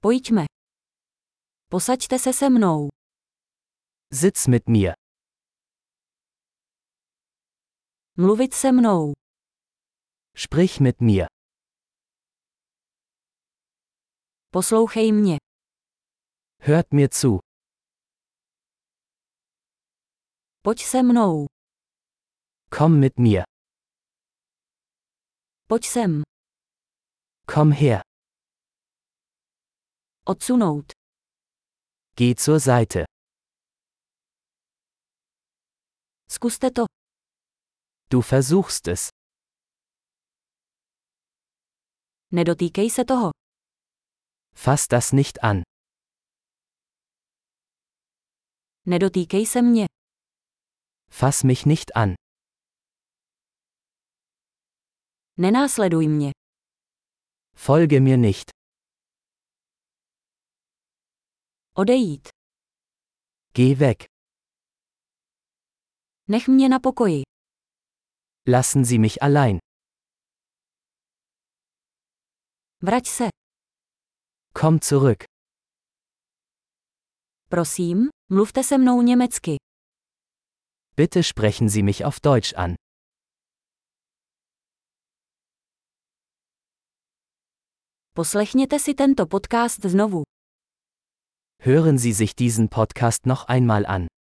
Pojďme. Posaďte se se mnou. Sitz mit mir. Mluvit se mnou. Sprich mit mir. Poslouchej mě. Hört mir zu. Pojď se mnou. Komm mit mir. Pojď sem. Komm her. Odsunout. Geh zur Seite. Zkuste to. Du versuchst es. Nedotýkej se toho. Fass das nicht an. Nedotýkej se mě. Fass mich nicht an. Nenásleduj mě. Folge mir nicht. Odejít. Geh weg. Nech mě na pokoji. Lassen Sie mich allein. Vrať se. Komm zurück. Prosím, mluvte se mnou německy. Bitte sprechen Sie mich auf Deutsch an. Poslechněte si tento podcast znovu. Hören Sie sich diesen Podcast noch einmal an.